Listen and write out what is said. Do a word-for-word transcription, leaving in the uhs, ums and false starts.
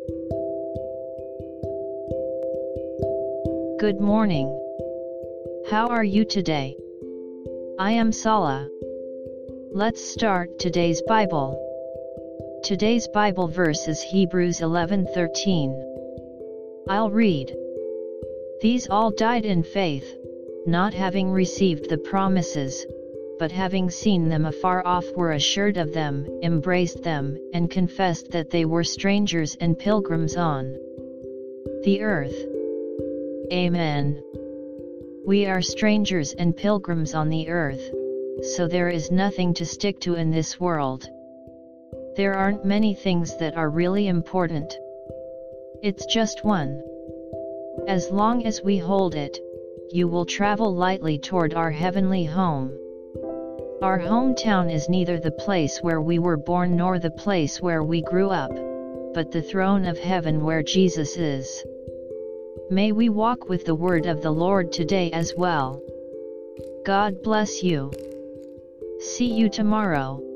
Good morning. How are you today? I am Sala. Let's start today's Bible. Today's Bible verse is Hebrews eleven thirteen. I'll read. These all died in faith, not having received the promises, but having seen them afar off were assured of them, embraced them, and confessed that they were strangers and pilgrims on the earth. Amen. We are strangers and pilgrims on the earth, so there is nothing to stick to in this world. There aren't many things that are really important. It's just one. As long as we hold it, you will travel lightly toward our heavenly home. Our hometown is neither the place where we were born nor the place where we grew up, but the throne of heaven where Jesus is. May we walk with the word of the Lord today as well. God bless you. See you tomorrow.